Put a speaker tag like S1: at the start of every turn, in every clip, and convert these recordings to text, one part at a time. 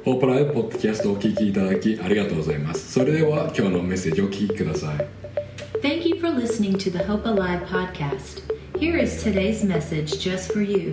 S1: ホープライブポッドキャストをお聞きいただきありがとうございます。それでは今日のメッセージをお聞きください。
S2: Thank you for listening to the Hope Alive podcast. Here is today's message just for you.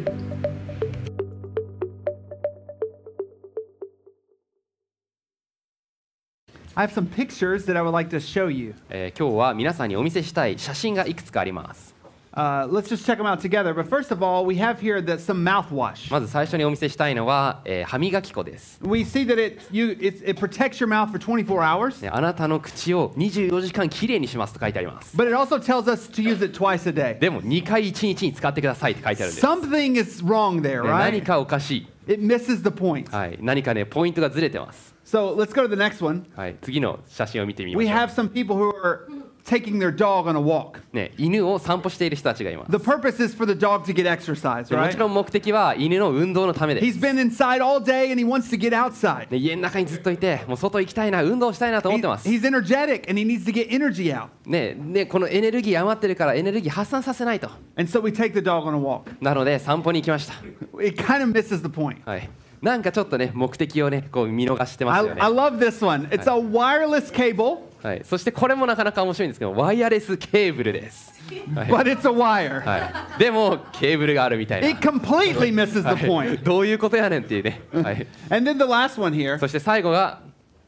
S3: I have some pictures that I would like to show you.
S4: 今日は皆さんにお見せしたい写真がいくつかあります。
S3: Let's just check them out together. But first of all, we have here some mouthwash.
S4: まず最初にお見せしたいのは、歯磨き粉です。
S3: We see that it protects your mouth for 24 hours.
S4: あなたの口を24時間きれいにしますと書いてあります。
S3: But it also tells us to use it twice a day.
S4: でも2回1日に使ってくださいって書いてあるんです。
S3: Something is wrong there,
S4: 何
S3: right?
S4: かおかしい。
S3: It misses the point.
S4: はい、何かねポイントがずれてます。
S3: So let's go to the next one.
S4: はい、次の写真を見てみま
S3: We
S4: しょ
S3: have some people who are taking their dog on a walk.
S4: う。ね、犬を散歩している人たちがいます。
S3: The purpose is for the dog to get exercise,
S4: でも
S3: right?
S4: ちろん目的は犬の運動のためで
S3: He's
S4: す。
S3: been inside all day and he wants to get outside.
S4: ね、家の中にずっといて、もう外行きたいな、運動したいなと思ってます。
S3: He's energetic and he needs to get energy out.
S4: ね、このエネルギー余ってるからエネルギー発散させないと。
S3: And so we take the dog on a walk.
S4: なので散歩に行きました。
S3: It kind of misses the point.
S4: はい。なんかちょっとね目的をねこう見逃してますよね。
S3: I love this one. It's a wireless cable,
S4: はい。そしてこれもなかなか面白いんですけど、ワイヤレスケーブルです。はい。
S3: but it's a wire.
S4: はい、でもケーブルがあるみたいな。
S3: It completely misses the
S4: は
S3: point.
S4: い、どういうことやねんっていうね。はい。
S3: And then the last one here.
S4: そして最後が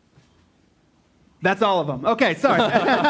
S3: That's all of them. Okay, sorry.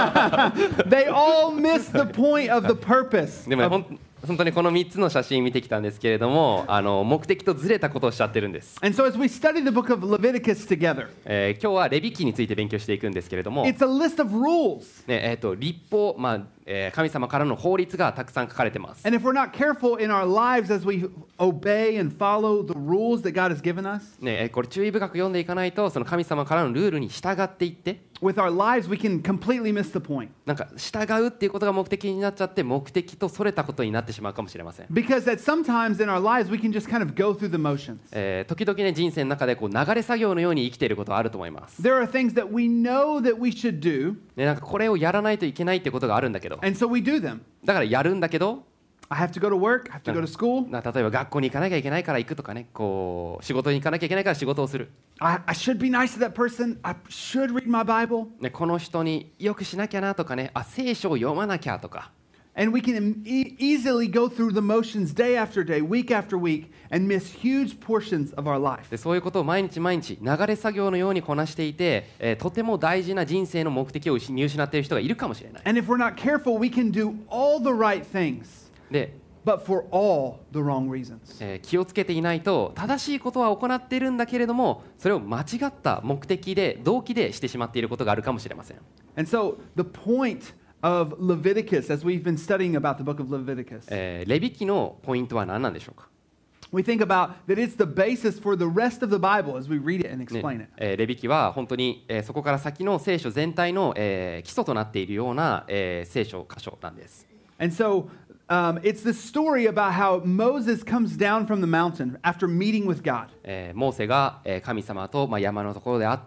S3: They all miss the point of the purpose.
S4: でもね本当にこの3つの写真見てきたんですけれども、目的とずれたことをしちゃってるんです。
S3: And so as we study the book of Leviticus together,
S4: 今日はレビ記について勉強していくんですけれども、
S3: it's a list of rules.
S4: ね、律法、神様からの法律がたくさん書かれてます。
S3: And if we're not careful in our lives as we obey and follow the rules that God has given us,
S4: ね、これ注意深く読んでいかないと、その神様からのルールに従っていって、
S3: with our lives we can completely miss the point.
S4: なんか従うっていうことが目的になっちゃって、目的とそれたことになってしまうかもしれません。
S3: Because that sometimes in our lives we can just kind of go through the motions.
S4: 時々ね人生の中でこう流れ作業のように生きていることがあると思います。
S3: There are things that we know that we should do,
S4: ね、なんかこれをやらないといけないってことがあるんだけど、
S3: and so we do them.
S4: だからやるんだけど、
S3: I have to go to work, I have to go to school.
S4: 例えば学校に行かなきゃいけないから行くとかね、こう仕事に行かなきゃいけないから仕事をする。
S3: I should be nice to that person. I should read my Bible.
S4: ね、この人によくしなきゃなとかね、聖書を読まなきゃとか。
S3: And we can easily go through the motions day after day, week after week, and miss huge portions of our life.
S4: でそういうことを毎日毎日流れ作業のようにこなしていて、とても大事な人生の目的を見失っている人がいるかもしれない。
S3: And if we're not careful, we can do all the right things,
S4: で、
S3: but for all the wrong reasons.
S4: 気をつけていないと正しいことは行っているんだけれども、それを間違った目的で動機でしてしまっていることがあるかもしれません。
S3: And so the point of Leviticus, as we've been studying about the book of Leviticus,
S4: レビ記のポイントは何なんでしょうか。
S3: we think about that it's the basis for the rest of the Bible as we read it and explain it.
S4: レビ記は本当に、そこから先の聖書全体の、基礎となっているような、聖書箇所なんです。
S3: And so it's the story about how Moses comes down from the mountain after meeting with God.
S4: モーセが神様と山のところで会って、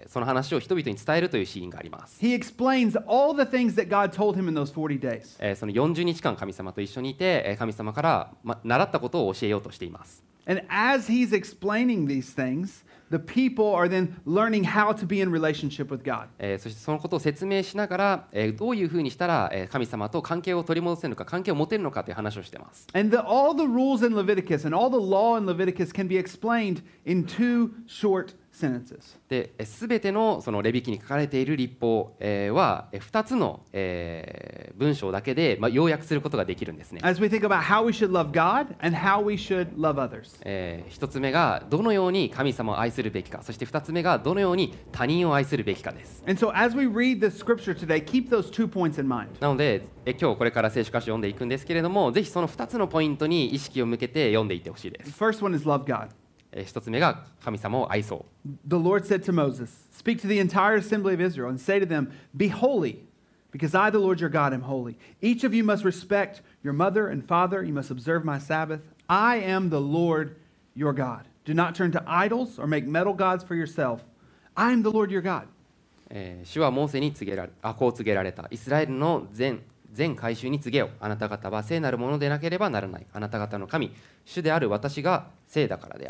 S4: その話を人々に伝えるというシーンがあります。
S3: He explains all the things that God told him in those 40 days.
S4: その40日間神様と一緒にいて、神様から習ったことを教えようとしています。
S3: And as he's explaining these things, the people are then learning how to be in relationship with God.
S4: そしてそのことを説明しながら、どういうふうにしたら、神様と関係を取り戻せるのか、関係を持てるのかという話をしています。
S3: And all the rules in Leviticus and all the law in Leviticus can be explained in 2 short sentences.
S4: で、すべてのそのレビ記に書かれている律法、は2つの、文章だけで、要約することができるんですね。
S3: As we think about how we should love God and how we should love others.
S4: 1つ目がどのように神様を愛するべきか、そして2つ目がどのように他人を愛するべきかです。
S3: And so as we read this scripture today, keep those 2 points in mind.
S4: なので、今日これから聖書箇所を読んでいくんですけれども、ぜひその2つのポイントに意識を向けて読んでいってほしいで
S3: The
S4: す。
S3: first one is love God.
S4: 1つ目が神様を愛そう。
S3: The Lord said to Moses, "Speak to the entire assembly of Israel and say to them, Be holy, because I, the Lord your God, am holy. Each of you must respect your mother and father. You must observe my Sabbath. I am the Lord your God. Do not turn to idols or make metal gods for yourself. I am the Lord your God."
S4: 主はモーセにこう告げられた。イスラエルの全改宗に告げよ。あなた方は聖なるものでなければならない。あなた方の神、主である私が聖だからである。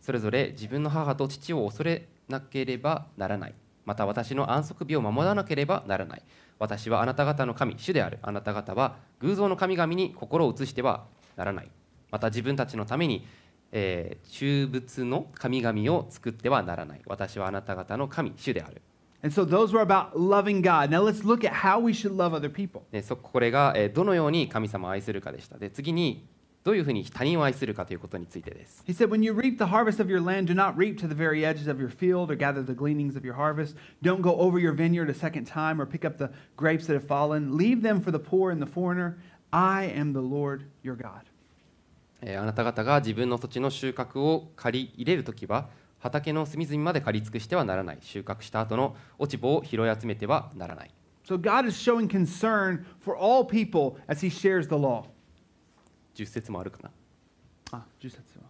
S4: それぞれ自分の母と父を恐れなければならない。また私の安息日を守らなければならない。私はあなた方の神、主である。あなた方は偶像の神々に心を移してはならない。また自分たちのために、中仏の神々を作ってはならない。私はあなた方の神、主である。
S3: And so those were about loving God. Now let's look at how we should love other people.
S4: これがどのように神様を愛するかでした。で、次にどういうふうに他人を愛するかということについてです。
S3: He said, when you reap the harvest of your land, do not reap to the very edges of your field or gather the gleanings of your harvest. Don't go over your vineyard a second time or pick up the grapes that have fallen. Leave them for the poor and the foreigner. I am the Lord your God.
S4: あなた方が自分の土地の収穫を借り入れるときは、畑の隅々まで借り尽くしてはならない。収穫した後の落ち葉を拾い集めてはならない。
S3: So God is showing concern for all people as he shares the law.
S4: 10節もあるかな。
S3: 10節は。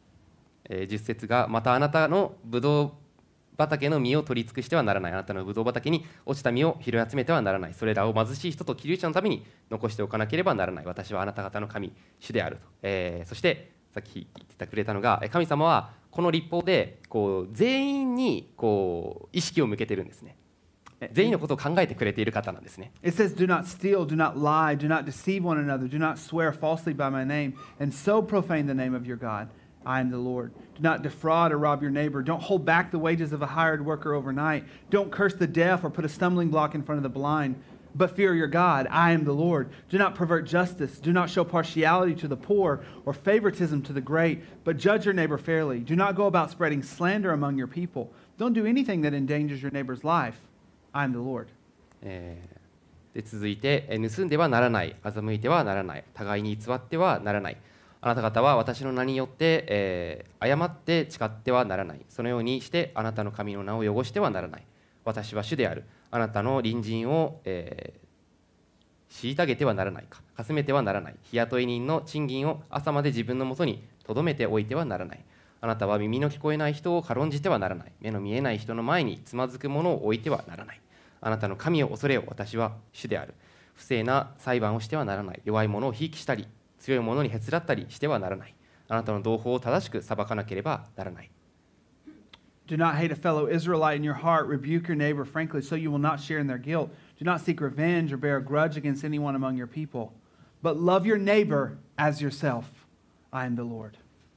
S4: 10節が、またあなたのブドウ畑の実を取り尽くしてはならない。あなたのブドウ畑に落ちた実を拾い集めてはならない。それらを貧しい人と寄留者のために残しておかなければならない。私はあなた方の神、主であると。そしてさっき言ってくれたのが、神様はこの律法で全員に意識を向けてるんですね。全員のことを考えてくれている方なんですね。
S3: It says, do not steal, do not lie, do not deceive one another, do not swear falsely by my name, and so profane the name of your God. I am the Lord. Do not defraud or rob your neighbor. Don't hold back the wages of a hired worker overnight. Don't curse the deaf or put a stumbling block in front of the blind. But fear your God. I am the Lord. Do not pervert justice. Do not show partiality to the poor or favoritism to the great, but judge your neighbor fairly. Do not go about spreading slander among your people. Don't do anything that endangers your neighbor's life. I am the Lord.
S4: で続いて、盗んではならない、欺いてはならない、互いに偽ってはならない。あなた方は私の名によって、誤って誓ってはならない。そのようにしてあなたの神の名を汚してはならない。私は主である。あなたの隣人を、虐げてはならないか、かすめてはならない。日雇い人の賃金を朝まで自分のもとに留めておいてはならない。あなたは耳の聞こえない人を軽んじてはならない。目の見えない人の前につまずくものを置いてはならない。あなたの神を恐れよ。私は主である。不正な裁判をしてはならない。弱い者をひいきしたり、強い者にへつらったりしてはならない。あなたの同胞を正しく裁かなければならない。
S3: Do not hate a fellow Israelite in your heart. Rebuke your neighbor frankly, so you will not share in their guilt. Do not seek revenge or bear a grudge against anyone among your people. But love your neighbor as yourself. I am the Lord.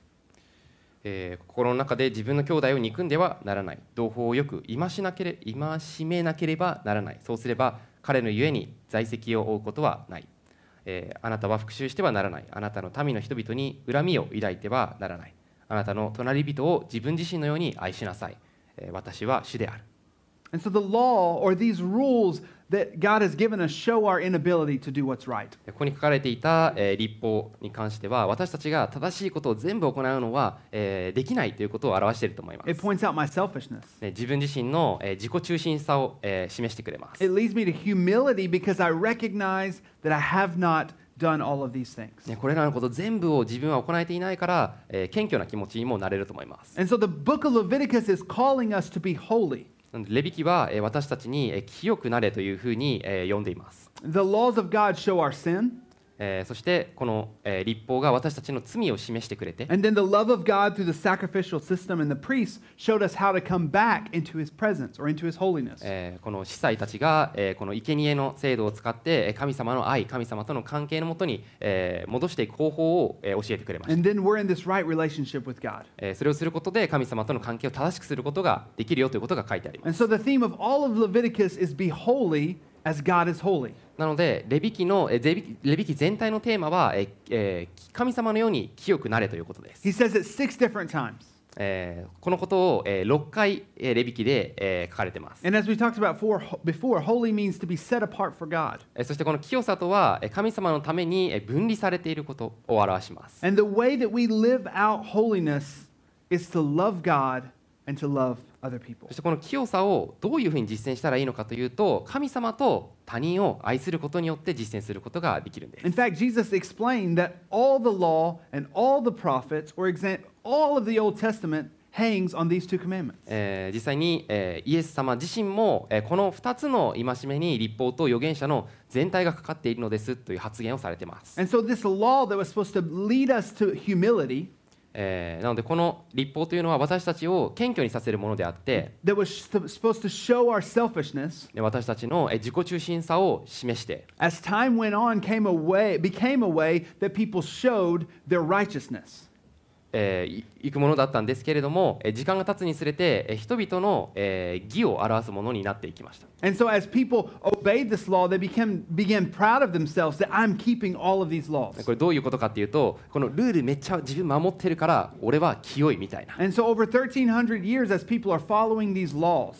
S4: 心の中で自分の兄弟を憎んではならない。同胞をよく戒めなければならない。そうすれば彼のゆえに在籍を負うことはない。あなたは復讐してはならない。あなたの民の人々に恨みを抱いてはならない。あなたの隣人を自分自身のように愛しなさい。私は主である。
S3: And so the law, or these rules that God has given us, show our inability to do what's right.
S4: ここに書かれていた律法に関しては、私たちが正しいことを全部行うのはできないということを表していると思います。
S3: It points out my selfishness.
S4: 自分自身の自己中心さを示してくれます。
S3: It leads me to humility because I recognize that I have not done all of these things.
S4: これらのこと全部を自分は行えていないから、謙虚な気持ちにもなれると思います。
S3: And so the book of Leviticus is calling us to be holy.
S4: レビ記は私たちに清くなれというふうに読んでいます。
S3: The laws of God show our sin.
S4: そしてこの律法が私たちの罪を示してくれて、
S3: And then the love of God through the sacrificial system and the priests showed us how to come back into his presence or into his holiness.
S4: この司祭たちがこの生贄の制度を使って神様の愛、神様との関係のもとに戻していく方法を教えてくれまし
S3: And then we're in this right relationship with God.
S4: た。それをすることで神様との関係を正しくすることができるよということが書いてあります。
S3: And so the theme of all of Leviticus is be holy as God is holy.
S4: なのでレビ記全体のテーマは神様のように清くなれということです。
S3: He says it 6 different times.
S4: このことを6回レビ記で書かれています。
S3: And as we talked about before, holy means to be set apart for God.
S4: そしてこの清さとは神様のために分離されていることを表します。
S3: And the way that we live out holiness is to love God and to love other people.
S4: そしてこの清さをどういうふうに実践したらいいのかというと、神様と他人を愛することによって実践することができるんです。
S3: In fact, Jesus explained that all the law and all the prophets, or all of the Old Testament, hangs on these two commandments.
S4: 実際にイエス様自身もこの2つの戒めに律法と預言者の全体がかかっているのですという発言をされています。
S3: And so this law that was supposed to lead us to humility,
S4: なのでこの律法というのは私たちを謙虚にさせるものであって、
S3: that was supposed to show our selfishness.
S4: 私たちの自己中心さを示して、
S3: As time went on, became a way that people showed their righteousness.
S4: いくものだったんですけれども、時間が経つにつれて人々の義を表すものになっていきました。
S3: And so as people obeyed this law, they began proud of themselves that I'm keeping all of these laws.
S4: これどういうことかっていうと、このルールめっちゃ自分守ってるから俺は清いみたいな、
S3: And so over 1,300 years, as people are following these laws,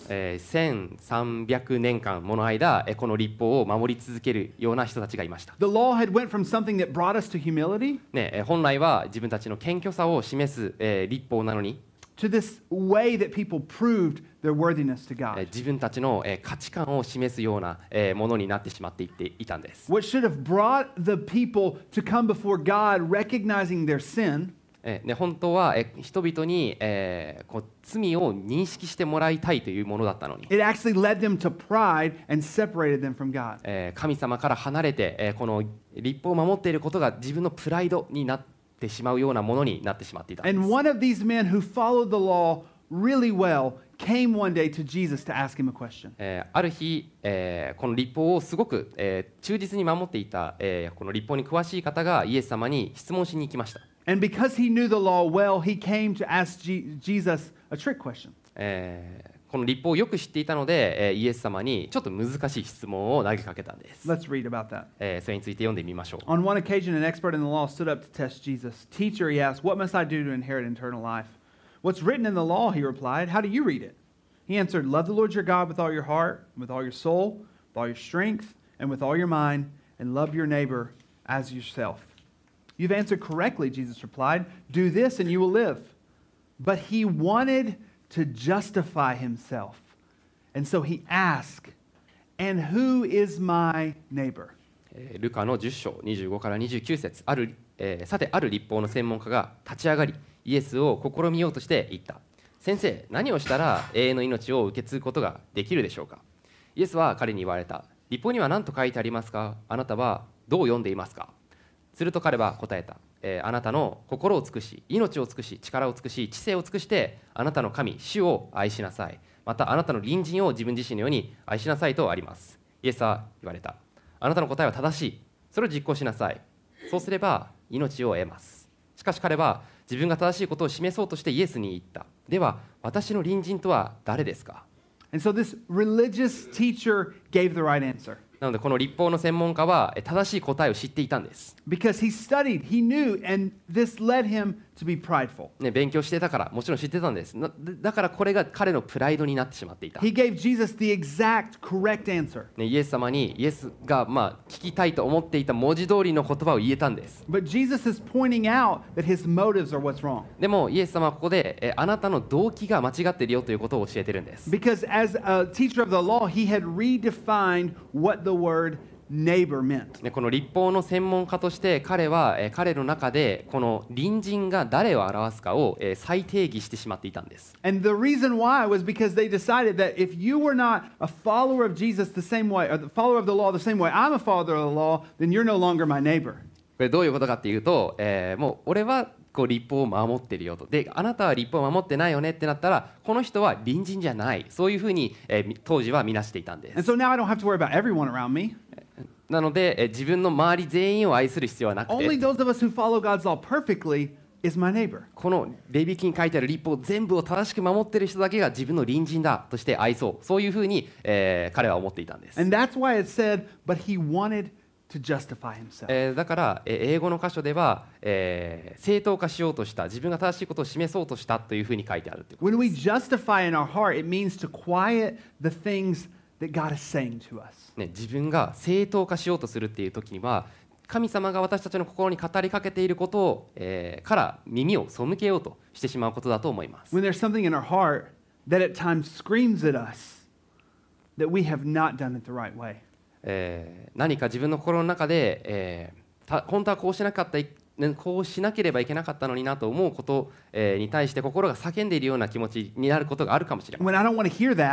S4: 1300年間もの間この律法を守り続けるような人たちがいました。
S3: the law had went from something that brought us to humility
S4: 本来は自分たちの謙虚さを示す律法なのに、
S3: to this way that people proved their worthiness to God.
S4: 自分たちの価値観を示すようなものになってしまっていたんです。
S3: What should have brought the people to come before God recognizing their sin
S4: 本当は人々にこう罪を認識してもらいたいというものだったのに、
S3: it actually led them to pride and separated them from God.
S4: 神様から離れてこの律法を守っていることが自分のプライドになってしまうようなものになってしまっていたんです。
S3: And one of these men who followed the law really well came one day to Jesus to ask him a question.
S4: ある日、この律法をすごく、忠実に守っていた、この律法に詳しい方がイエス様に質問しに行きました。
S3: And because he knew the law well, he came to ask Jesus a trick question.
S4: この律法をよく知っていたので、イエス様にちょっと難しい質問を投げかけたんです。
S3: Let's read about that.
S4: それについて読んでみましょう。
S3: On one occasion, an expert in the law stood up to test Jesus. Teacher, he asked, what must I do to inherit eternal life? What's written in the law, he replied. How do you read it? He answered, love the Lord your God with all your heart, with all your soul, with all your strength, and with all your mind, and love your neighbor as yourself. You've answered correctly, Jesus replied. Do this and you will live. But he wanted to justify himself. And so he asked, and who is my neighbor?
S4: ルカの10章25から29節さてある律法の専門家が立ち上がりイエスを試みようとして言った。先生、何をしたら永遠の命を受け継ぐことができるでしょうか。イエスは彼に言われた。律法には何と書いてありますか。あなたはどう読んでいますか。すると彼は答えた。あなたの心を尽くし、命を尽くし、力を尽くし、知性を尽くしてあなたの神、主を愛しなさい。またあなたの隣人を自分自身のように愛しなさいとあります。イエスは言われた。あなたの答えは正しい。それを実行しなさい。そうすれば命を得ます。しかし彼は自分が正しいことを示そうとしてイエスに言った。では私の隣人とは誰ですか。
S3: And so this religious teacher gave the right answer.
S4: なのでこの律法の専門家は正しい答えを知っていたんです。
S3: Because he studied, he knew, and this led him to be prideful.
S4: 勉強してたからもちろん知ってたんです。だからこれが彼のプライドになってしまっていた。
S3: He gave Jesus the exact correct answer.
S4: イエス様にイエスが聞きたいと思っていた文字通りの言葉を言えたんです。
S3: But Jesus is pointing out that his motives are what's wrong.
S4: でもイエス様はここであなたの動機が間違っているよということを教えてるんです。
S3: Because as a teacher of the law, he had redefined what the word neighbor meant.
S4: この律法の専門家として彼は彼の中でこの隣人が誰を表すかを再定義してしまっていたんです。
S3: And the reason why was because they decided that if you were not a follower of Jesus the same way, or the follower of the law the same way I'm a follower of the law, then you're no longer my neighbor.
S4: これどういうことかっていうと、もう俺はこう律法を守ってるよと。で、あなたは律法を守ってないよねってなったら、この人は隣人じゃない。そういうふうに、当時は見なしていたんで
S3: And
S4: す。
S3: so now I don't have to worry about everyone around me.
S4: なので、自分の周り全員を愛する必要はなく
S3: Only
S4: て、
S3: those of us who follow God's law perfectly is my neighbor.
S4: このレビ記に書いてある律法全部を正しく守ってる人だけが自分の隣人だとして愛そう。そういうふうに、彼は思っていたんです。
S3: And that's why it said, but he wanted to justify himself.
S4: だから、英語の箇所では、正当化しようとした、自分が正しいことを示そうとしたというふうに書いてあるということ
S3: When we justify in our heart, it means to quiet the things that God is saying to us.
S4: 自分が正当化しようとするっていう時には神様が私たちの心に語りかけていることを、から耳を背けようとしてしまうことだと思います。
S3: When there's something in our heart that at times screams at us that we have not done it the right way.
S4: 何か自分の心の中で、本当はこうしなければいけなかったのになと思うこと、に対して心が叫んでいるような気持ちになることがあるかもしれません。
S3: When I don't want to hear that,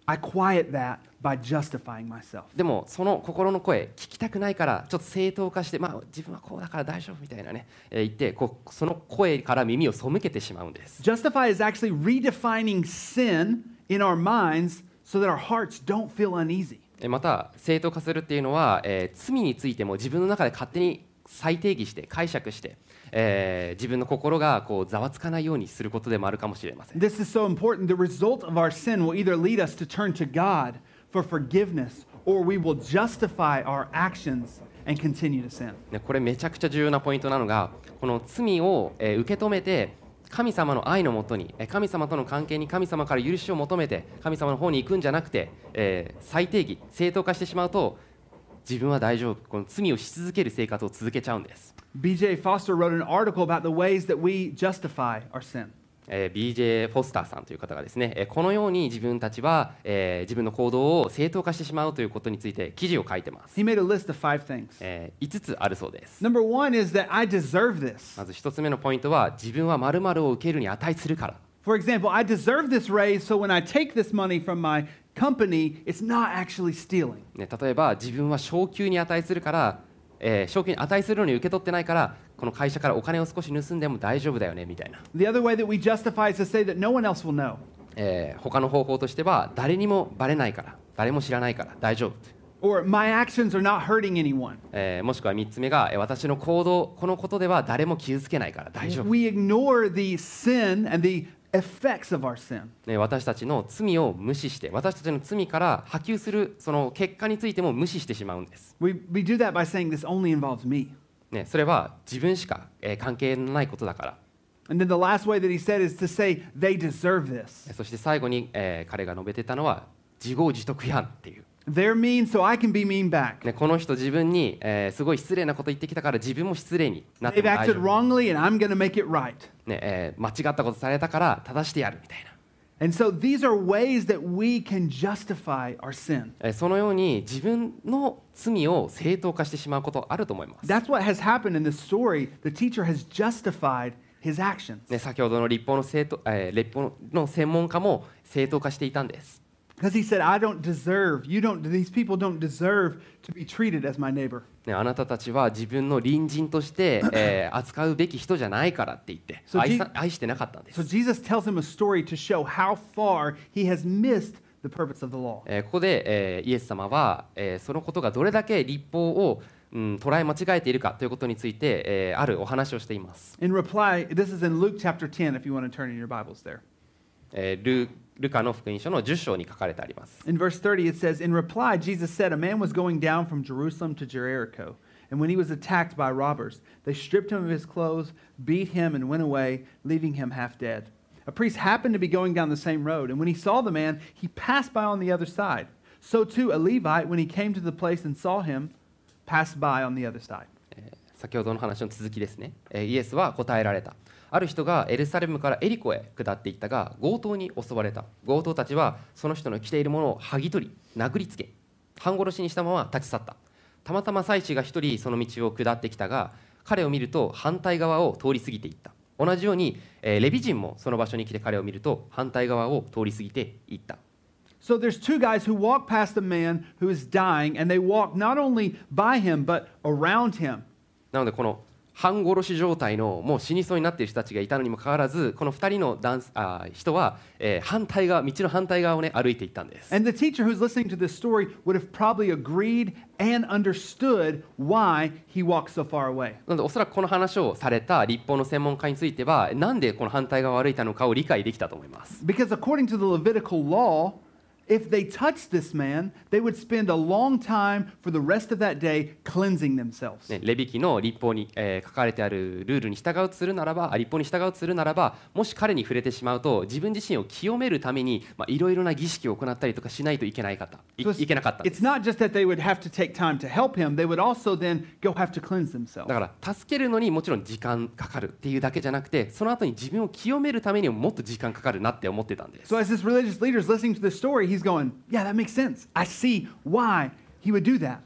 S3: I quiet that by justifying myself.
S4: でもその心の声聞きたくないからちょっと正当化して、自分はこうだから大丈夫みたいなね、言ってその声から耳を背けてしまうんです。
S3: Justify is actually redefining sin in our minds so that our hearts don't feel uneasy.
S4: また正当化するっていうのは、罪についても自分の中で勝手に再定義して解釈して、自分の心がざわつかないようにすることでもあるかもしれません。
S3: This is so important. The result of our sin will either lead us to turn to God for forgiveness or we will justify our actions and continue to sin.
S4: これめちゃくちゃ重要なポイントなのが、この罪を受け止めて神様の愛のもとに、神様との関係に神様から許しを求めて神様の方に行くんじゃなくて、再定義正当化してしまうと自分は大丈夫、この罪をし続ける生活を続けちゃうんです。
S3: B.J. Foster wrote an article about the ways that we justify our sin.
S4: BJ フォスターさんという方がですね、このように自分たちは、自分の行動を正当化してしまうということについて記事を書いてます。
S3: He made a list of 5 things.
S4: 5つあるそうです。
S3: Number 1 is that I deserve this.
S4: まず1つ目のポイントは、自分は〇〇を受けるに値するから。
S3: For example, I deserve this raise, so when I take this money from my company, it's not actually stealing.
S4: ね、例えば自分は昇給に値するから、昇給に値するのに受け取ってないからこの会社からお金を少し盗んでも大丈夫だよねみたいな。
S3: The other way that we justify is to say that no one else will know.
S4: 他の方法としては誰にもバレないから誰も知らないから大丈夫。
S3: Or my actions are not hurting anyone.
S4: もしくは3つ目が、私の行動このことでは誰も傷つけないから大丈夫。
S3: We ignore the sin and the effects of our sin.
S4: 私たちの罪を無視して私たちの罪から波及するその結果についても無視してしまうんです。
S3: We do that by saying this only involves me.
S4: それは自分しか、関係のないことだから。
S3: And then the last way that he said is to say they deserve this.
S4: そして最後に、彼が述べてたのは自業自得批判っていう。
S3: They're mean, so I can be mean back.
S4: この人自分に、すごい失礼なこと言ってきたから自分も失礼になって
S3: They've
S4: も大
S3: acted
S4: 丈夫、
S3: wrongly, and I'm going to make it right.
S4: 間違ったことされたから正してやるみたい
S3: And so these are ways that we can justify our sin.
S4: な、そのように自分の罪を正当化してしまうことあると思います。
S3: That's what has happened in this story. The teacher has justified his actions.
S4: 先ほどの立法の専門家も正当化していたんです。
S3: Because he said, I don't deserve, these people don't deserve to be treated as my neighbor.
S4: あなたたちは自分の隣人として、扱うべき人じゃないからって言って
S3: So
S4: 愛してなかったんです。
S3: So Jesus tells him a story to show how far he has missed the purpose of the law.
S4: ここで、イエス様は、そのことがどれだけ立法を、捉え間違えているかということについて、あるお話をしています。
S3: In reply, this is in Luke chapter 10, if you want to turn in your Bibles there.
S4: ルカの福音書の10章に書かれてあります。
S3: In verse 30, it says, In reply, Jesus said, A man was going down from Jerusalem to Jericho, and when he was attacked by robbers, they stripped him of his clothes, beat him, and went away, leaving him half dead. A priest happened to be going down the same road, and when he saw the man, he passed by on the other side. So too, a Levite, when he came to the place and saw him, passed by on the other side.
S4: 先ほどの話の続きですね。イエスは答えられた。ある人がエルサレムからエリコへ下っていったが強盗に襲われた。強盗たちはその人の着ているものを剥ぎ取り殴りつけ半殺しにしたまま立ち去った。たまたま祭司が一人その道を下ってきたが彼を見ると反対側を通り過ぎていった。同じように、レビ人もその場所に来て彼を見ると反対側を通り過ぎていった。
S3: So there's two guys who walk past a man who is dying, and they walk not only by him, but around him.
S4: なのでこの半殺し状態のもう死にそうになっている人たちがいたのにもかかわらずこの2人の人は、道の反対側を、歩いていったんです。
S3: And the teacher who's listening to this story would have probably agreed and understood why he walked so far away.
S4: なのでおそらくこの話をされた立法の専門家についてはなんでこの反対側を歩いたのかを理解できたと思います。
S3: Because according to the Levitical law, if they touched this man, they would spend a long time for the rest of that day cleansing themselves.
S4: レビ記の立法に、書かれてあるルールに従うとするならば、立法に従うとするならば、もし彼に触れてしまうと自分自身を清めるためにいろいろな儀式を行ったりとかしないといけなかった。いけなかったんです。
S3: It's not just that they would have to take time to help him, they would also then go have to cleanse themselves.
S4: だから助けるのにもちろん時間かかるっていうだけじゃなくて、その後に自分を清めるためにももっと時間かかるなって思ってたんです。
S3: So as this religious leader is listening to this story, he's going, yeah, that makes sense. I see why he would do that.
S4: だ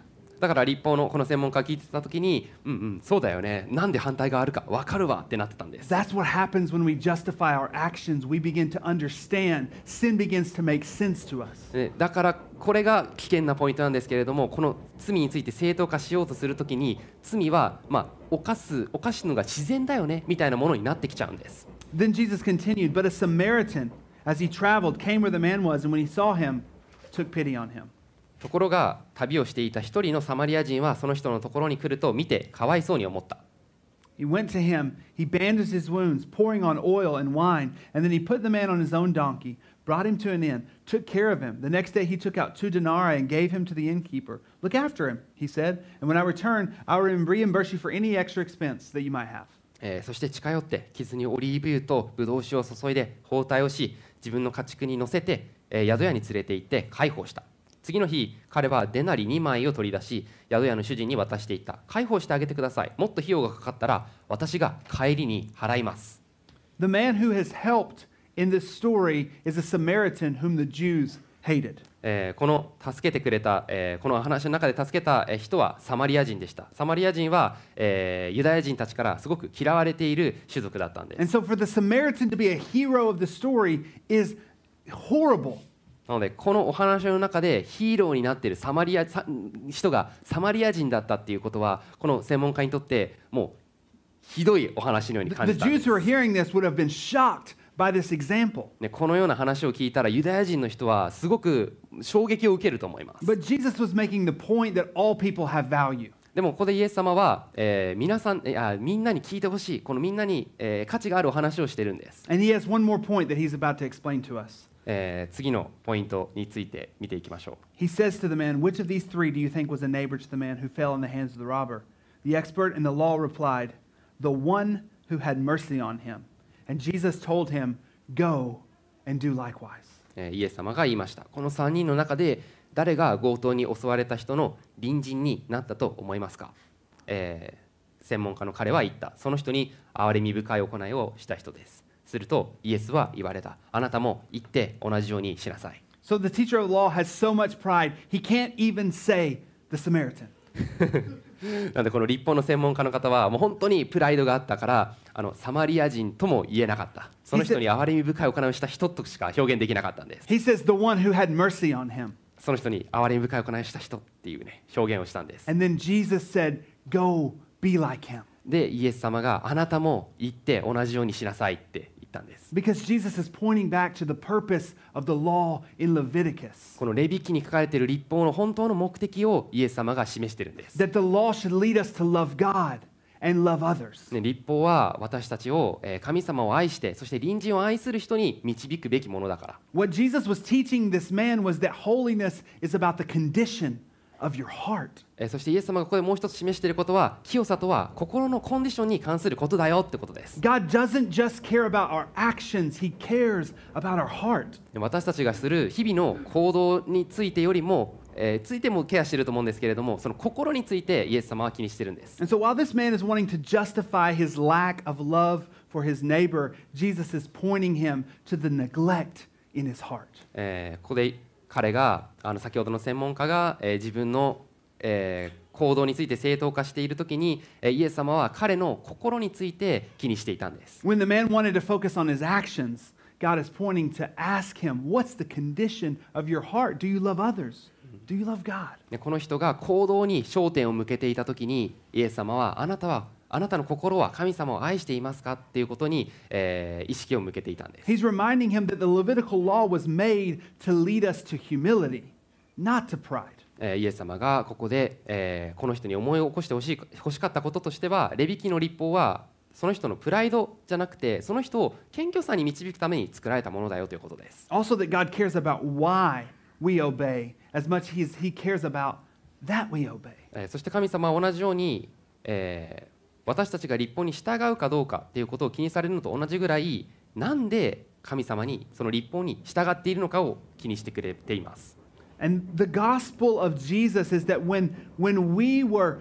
S4: だから立法のこの専門家が聞いてた時に、そうだよね、なんで反対があるか分かるわってなってたんです。
S3: That's what happens when we justify our actions. We begin to understand. Sin begins to make sense to us.
S4: だからこれが危険なポイントなんですけれども、この罪について正当化しようとするときに、罪は犯すのが自然だよねみたいなものになってきちゃうんです。
S3: Then Jesus continued, but a Samaritan, as he traveled, came where the man was, and when he saw him, took pity on him.
S4: ところが旅をしていた一人のサマリア人はその人のところに来ると見てかわいそうに思った。
S3: He went to him, he bandaged his wounds, pouring on oil and wine, and then he put the man on his own donkey, brought him to an inn, took care of him. The next day he took out 2 denarii and gave him to the innkeeper. Look after him, he said, and when I return, I will reimburse you for any extra expense that you might have.
S4: そして近寄って傷にオリーブ油とブドウ酒を注いで包帯をし、自分の家畜に乗せて、宿屋に連れて行って介抱した。次の日、彼はデナリ2枚を取り出し、宿屋の主人に渡していった。介抱してあげてください。もっと費用がかかったら私が帰りに払います。
S3: The man who has helped in this story is a Samaritan whom the Jews hated.
S4: この助けてくれた、この話の中で助けた人はサマリア人でした。サマリア人は、ユダヤ人たちからすごく嫌われている種族だったんです。
S3: And so for the Samaritan to be a hero of the story is horrible.
S4: なのでこのお話の中でヒーローになっている人がサマリア人だったっていうことは、この専門家にとってもうひどいお話のように感
S3: The
S4: じたんで
S3: Jews
S4: す。
S3: who are hearing this would have been shocked by this example.
S4: このような話を聞いたらユダヤ人の人はすごく衝撃を受けると思います。
S3: But Jesus was making the point that all people have value.
S4: でもここでイエス様は、みんなに聞いてほしい、このみんなに、価値があるお話をしてるんです。
S3: And he has one more point that he's about to explain to us.
S4: 次のポイントについて見ていきましょう。
S3: He says to the man, "Which of these 3 do you think was a neighbor to the man who fell in the hands of the robber?" The expert in the law replied, "The one who had mercy on him." And Jesus told him, "Go and do likewise."
S4: イエス様が言いました。この3人の中で誰が強盗に襲われた人の隣人になったと思いますか？専門家の彼は言った。その人に憐れみ深い行いをした人です。するとイエスは言われた。あなたも行って同じようにしなさい。
S3: So the teacher of the law has so much pride, he can't even say the Samaritan.
S4: なのでこの立法の専門家の方はもう本当にプライドがあったからサマリア人とも言えなかった。その人に憐れみ深い行いをした人としか表現できなかったんです。
S3: He says the one who had mercy on him.
S4: その人に憐れみ深い行いをした人っていうね表現をしたんです。
S3: And then Jesus said, "Go be like him."
S4: でイエス様があなたも行って同じようにしなさいって言ったんです。
S3: Because Jesus is pointing back to the purpose of the law in Leviticus.
S4: このレビ記に書かれている律法の本当の目的をイエス様が示しているんです。
S3: That the law should lead us to love God and love others.
S4: 律法は私たちを神様を愛してそして隣人を愛する人に導くべきものだから。
S3: What Jesus was teaching this man was that holiness is about the condition of your heart.
S4: そしてイエス様がここでもう一つ示していることは清さとは心のコンディションに関することだよってことです。
S3: God doesn't just care about our actions, He cares about our heart.
S4: 私たちがする日々の行動についてよりもついてもケアしていると思うんですけれども、その心についてイエス様は気にしているんです。
S3: And so while this man is wanting to justify his lack of love for his neighbor, Jesus is pointing him to the neglect in his heart.
S4: ここで彼が先ほどの専門家が自分の行動について正当化しているときにイエス様は彼の心について気にしていたんです。
S3: When the man wanted to focus on his actions, God is pointing to ask him, what's the condition of your heart? Do you love others? Do you love God?
S4: この人が行動に焦点を向けていたときにイエス様はあなたの心は神様を愛していますかっていうことに、意識を向けていたんです。
S3: He's reminding him that the Levitical law was made to lead us to humility, not to pride.
S4: イエス様がここで、この人に思い起こしてほしかったこととしては、レビ記の律法はその人のプライドじゃなくてその人を謙虚さに導くために作られたものだよということです。
S3: Also that God cares about why we obey as much as He cares about that we obey.
S4: そして神様は同じように、私たちが律法に従うかどうかっていうことを気にされるのと同じぐらい、なんで神様にその律法に従っているのかを気にしてくれています。
S3: And the gospel of Jesus is that when we were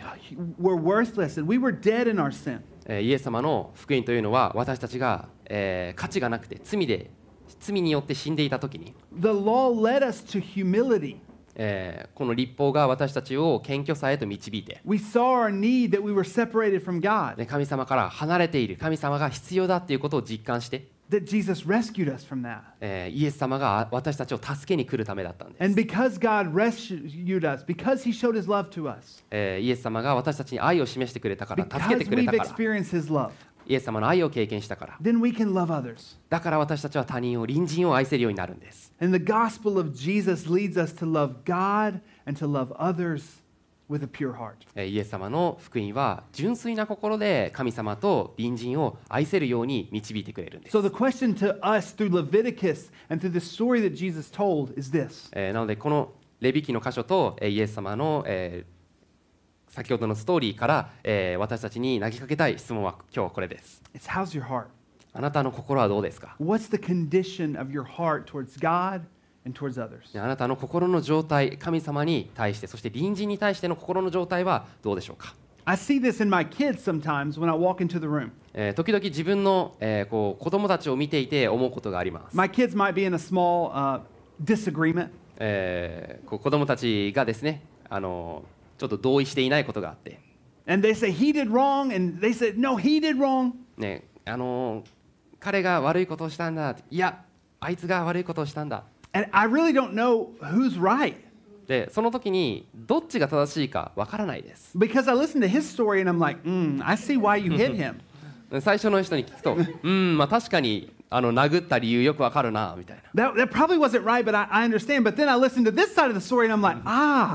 S3: worthless and we were dead in our sin,
S4: イエス様の福音というのは私たちが、価値がなくて罪によって死んでいたときに、
S3: the law led us to humility.
S4: この律法が私たちを謙虚さへと導いて、
S3: We saw our need that we were separated from God,
S4: 神様から離れている、神様が必要だっていうことを実感して、
S3: that Jesus rescued us from that.
S4: イエス様が私たちを助けに来るためだったんです。
S3: And because God rescued us, because He showed His love to us,
S4: イエス様が私たちに愛を示してくれたから、助け
S3: because
S4: てくれ
S3: we've
S4: たから、
S3: experienced His love,
S4: イエス様の愛を経験したから、
S3: then we can love others.
S4: だから私たちは他人を、隣人を愛せるようになるんです。
S3: And the gospel of Jesus leads us to love God and to love others with a pure heart.
S4: イエス様の福音は純粋な心で神様と隣人を愛せるように導いてくれるんです。
S3: So the question to us through Leviticus and through the story that Jesus told is this.
S4: なのでこのレビ記の箇所とイエス様の先ほどのストーリーから私たちに投げかけたい質問は今日はこれです。
S3: It's how's your heart?
S4: あなたの心はどうですか？
S3: What's the condition of your heart towards God and towards others?
S4: あなたの心の状態、神様に対して、そして隣人に対しての心の状態はどうでしょうか？
S3: I see this in my kids sometimes when I walk into the room.
S4: 時々自分の、子供たちを見ていて思うことがあります。
S3: My kids might be in a small disagreement,
S4: 子供たちがですね、ちょっと同意していないことがあって、
S3: and they say he did wrong, and they said no, he did wrong.
S4: ね、彼が悪いことをしたんだ、いや、あいつが悪いことをしたんだ。
S3: And I really don't know who's right
S4: で、その時にどっちが正しいかわからないです。
S3: because I listened to his story and I'm like, I see why you hit him.
S4: 最初の人に聞くと、まあ確かに殴った理由よくわかるなみたいな。
S3: That probably wasn't right, but I understand. But then I listened to this side of the story and I'm like,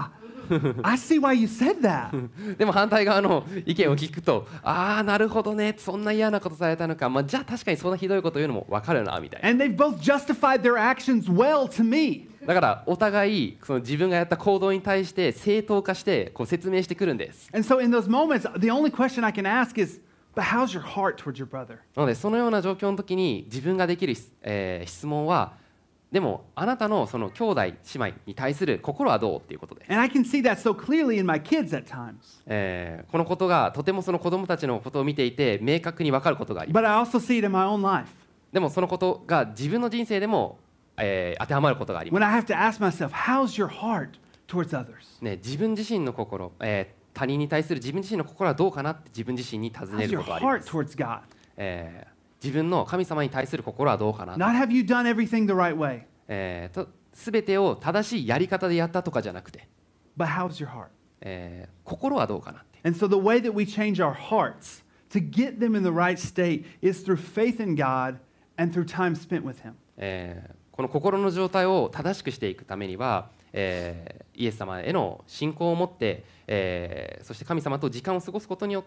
S3: I see why you said that.
S4: でも反対側の意見を聞くと、ああなるほどね、そんな嫌なことされたのか、まあ、じゃあ確かにそんなひどいこと言うのも分かるなみたいな。
S3: And they've both justified their actions well to me.
S4: だからお互いその自分がやった行動に対して正当化してこう説明してくるんです。
S3: And so in those moments, the only question I can ask is, but how's your heart towards your brother?
S4: なのでそのような状況の時に自分ができる、質問は、でもあなたのその兄弟姉妹に対する心はどうっていうことで、
S3: And I can see that so clearly in my kids at times.
S4: このことがとてもその子供たちのことを見ていて明確に分かることがあります。
S3: But I also see it in my own life.
S4: でもそのことが自分の人生でも、当てはまることがあります。
S3: When I have to ask myself, how's your heart towards others?
S4: ね、自分自身の心、他人に対する自分自身の心はどうかなって自分自身に尋ね
S3: How's
S4: る
S3: your
S4: ことがありま
S3: heart
S4: す。
S3: towards God?
S4: 自分の神様に対する心はどうかな、
S3: Not have you done everything the right way,
S4: 全てを正しいやり方でやったとかじゃなくて、
S3: but how's your heart?
S4: 心はどうかなって。
S3: And so the way that we change our hearts to get them in the right state is through faith in God and through time spent with Him.
S4: この心の状態を正しくしていくためには、イエス様への信仰を持って、そして神様と時間を過ごすことによって、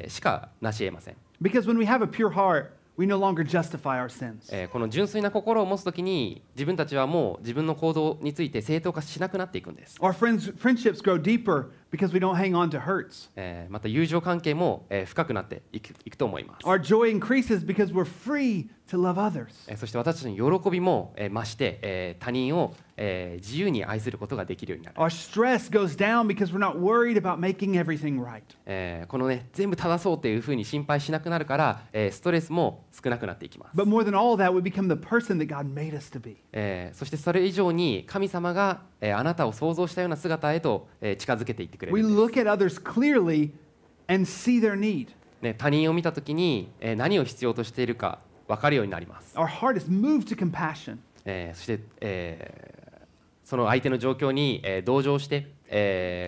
S4: しかなし得ません。
S3: Because when we have a pure heart, we no longer justify our sins.
S4: この純粋な心を持つときに自分たちはもう自分の行動について正当化しなくなっていくんです。
S3: Our friendships grow deeper because we don't hang on to hurts.
S4: また友情関係も、深くなっていくと思います。
S3: Our joy increases because we're free to love others.
S4: そして私たちの喜びも、増して、他人を、自由に愛することができるようになる。
S3: Our stress goes down because we're not worried about making everything right.
S4: このね全部正そうというふうに心配しなくなるから、ストレスも少なくなっていきます。
S3: But more than all that, we become the person that God made us to be.
S4: そしてそれ以上に神様が、あなたを想像したような姿へと、近づけていってくれる
S3: We
S4: んです。
S3: look at others clearly and see their need.
S4: ね、他人を見たときに、何を必要としているか分かるようになります。
S3: Our heart is moved to compassion.
S4: そして、その相手の状況に、同情して、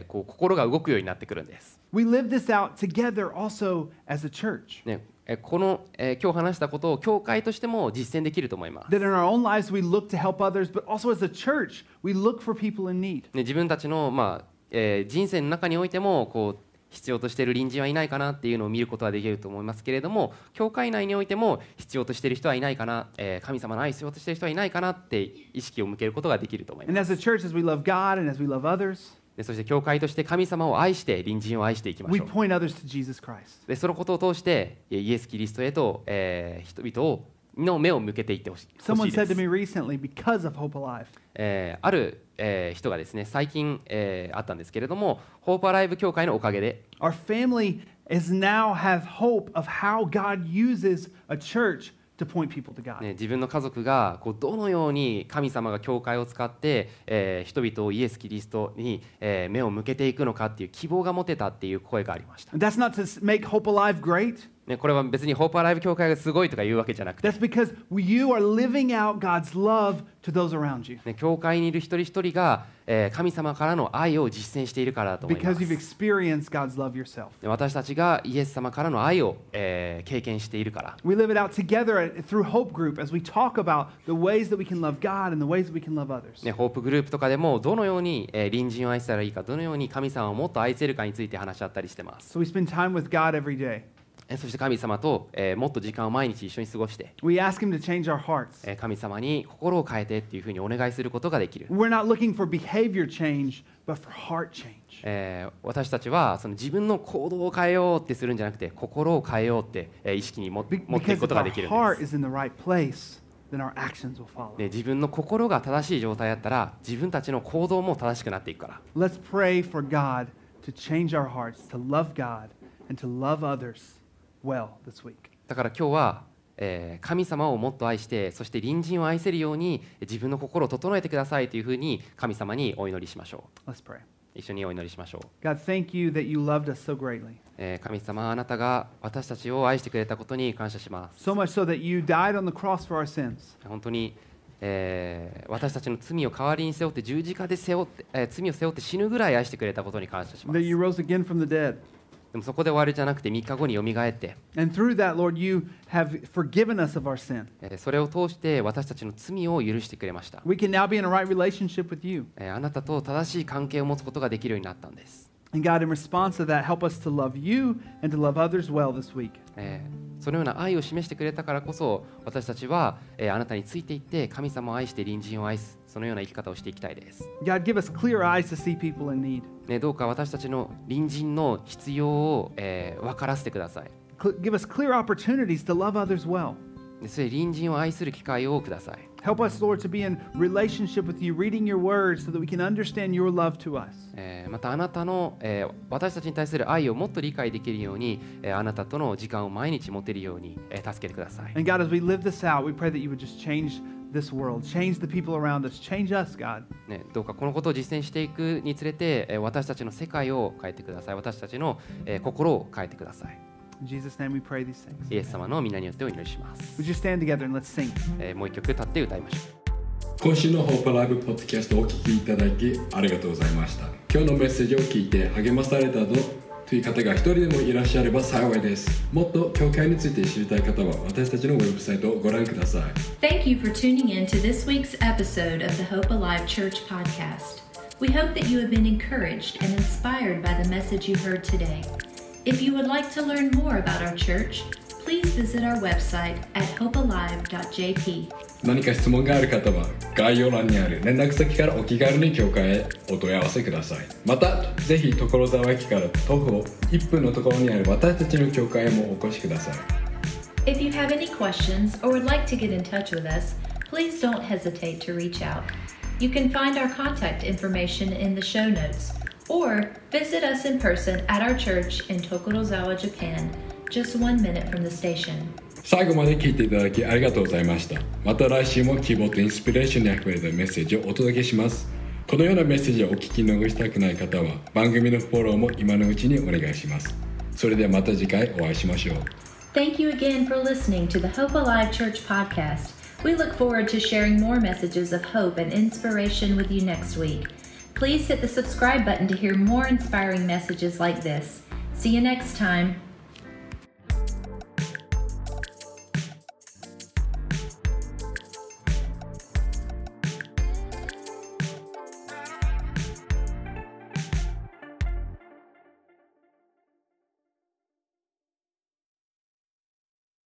S4: こう心が動くようになってくるんです。
S3: We live this out together also as a church.
S4: ね、この、今日話したことを教会としても実践できると思います。
S3: That in our own lives we look to help others, but also as a church we look for people in need.
S4: ね、自分たちの、人生の中においてもこう必要としている隣人はいないかなっていうのを見ることができると思いますけれども、教会内においても必要としている人はいないかな、神様の愛を必要としている人はいないかなって意識を向けることができると思います。
S3: And as a church, as we love God and as we love others,
S4: でそして教会として神様を愛して隣人を愛していきま
S3: we
S4: しょう。
S3: point others to Jesus Christ.
S4: でそのことを通してイエス・キリストへと、人々の目を向けていってほしい
S3: Someone
S4: で
S3: said to
S4: す。
S3: me recently, because of Hope Alive,
S4: ある、人がですね最近、あったんですけれども、ホープアライブ教会のおかげで、
S3: our family is now have hope of how God uses a church to point people to God.
S4: ね、自分の家族がこうどのように神様が教会を使って、人々をイエス・キリストに、目を向けていくのかっていう希望が持てたっていう声がありました。
S3: And that's not to make Hope Alive great.
S4: ね、これは別にホープアライブ教会がすごいとか言うわけじゃなくて、
S3: That's because you are living out God's love to those around you.
S4: ね、教会にいる一人一人が、神様からの愛を実践しているからだと思いま
S3: Because you've
S4: す。
S3: experienced God's love yourself.
S4: ね、私たちがイエス様からの愛を、経験しているから。
S3: We live it out together through Hope Group as we talk about the ways that we can love God and the ways that we can love others.
S4: ね、ホープグループとかでもどのように、隣人を愛したらいいか、どのように神様をもっと愛せるかについて話し合ったりしてます。
S3: So we spend time with God every day.
S4: そして神様と、もっと時間を毎日一緒に過ごして、
S3: We ask Him to change our hearts.
S4: 神様に心を変えてっていうふうにお願いすることができる。
S3: We're not looking for behavior change, but for heart change.
S4: 私たちはその自分の行動を変えようってするんじゃなくて、心を変えようって、意識に持っていく
S3: Because
S4: こ
S3: if
S4: とが
S3: our
S4: できるん
S3: heart
S4: です。
S3: is in the right place, then our actions will follow.
S4: で、自分の心が正しい状態だったら、自分たちの行動も正しくなっていくから。
S3: Let's pray for God to change our hearts, to love God, and to love others well this week.
S4: だから今日は、神様をもっと愛して、そして隣人を愛せるように自分の心を整えてくださいというふうに神様にお祈りしましょ
S3: Let's pray.
S4: う。一緒にお祈りしましょう。
S3: God, thank you that you loved us so greatly.
S4: 神様、あなたが私たちを愛してくれたことに感謝します。
S3: So much so that you died on the cross for our sins.
S4: 本当に、私たちの罪を代わりに背負って十字架で罪を背負って死ぬぐらい愛してくれたことに感謝しま
S3: That
S4: す。
S3: you rose again from the dead.
S4: でもそこで終わりじゃなくて3日後によみがえって、
S3: And through that, Lord, you have forgiven us of our sin.
S4: それを通して私たちの罪を許してくれました。
S3: We can now be in a right relationship with you.
S4: あなたと正しい関係を持つことができるようになったんです。
S3: And God, in response to that, help us to love you and to love others well this week.
S4: そのような愛を示してくれたからこそ、私たちは、あなたについていって神様を愛して隣人を愛す、そのような生き方をしていきたいです。
S3: God, give us clear eyes to see people in need.
S4: どうか私たちの隣人の必要を、分からせてください。
S3: Give us clear opportunities to love others well.
S4: それ隣人を愛する機会をください。
S3: Help us, Lord, to be in relationship with you, reading your words so that we can understand your love to us.
S4: またあなたの、私たちに対する愛をもっと理解できるように、あなたとの時間を毎日持てるように、助けてください。
S3: And God, as we live this out, we pray that you would just change this world, change the people around us, change us, God.
S4: どうかこのことを実践していくにつれて、私たちの世界を変えてください。私たちの、心を変えてください。
S3: In Jesus' name we pray these things.
S4: イエス様の皆によってお祈りします。
S3: Would you stand together and let's sing?
S4: もう一曲立って歌いましょう。
S1: 今週のホープライブポッドキャストをお聞きいただきありがとうございました。今日のメッセージを聞いて励まされたという方が一人でもいらっしゃれば幸いです。もっと教会について知りたい方は私たちのウェブサイトをご覧ください。
S2: Thank you for tuning in to this week's episode of the Hope Alive Church podcast. We hope that you have been encouraged and inspired by the message you heard today. If you would like to learn more about our church, please visit our website at hopealive.jp.
S1: 何か質問がある方は概要欄にある連絡先からお気軽に教会へお問い合わせください。またぜひ所沢駅から徒歩1分のところにある私たちの教会へもお越しください。
S2: If you have any questions or would like to get in touch with us, please don't hesitate to reach out. You can find our contact information in the show notes or visit us in person at our church in Tokorozawa, Japan, just 1 minute from the station.
S1: 最後まで聞いていただきありがとうございました。また来週も希望とインスピレーションにあふれたメッセージをお届けします。このようなメッセージをお聞き逃したくない方は番組のフォローも今のうちにお願いします。それではまた次回お会いしましょう。
S2: Thank you again for listening to the Hope Alive Church podcast. We look forward to sharing more messages of hope and inspiration with you next week. Please hit the subscribe button to hear more inspiring messages like this. See you next time.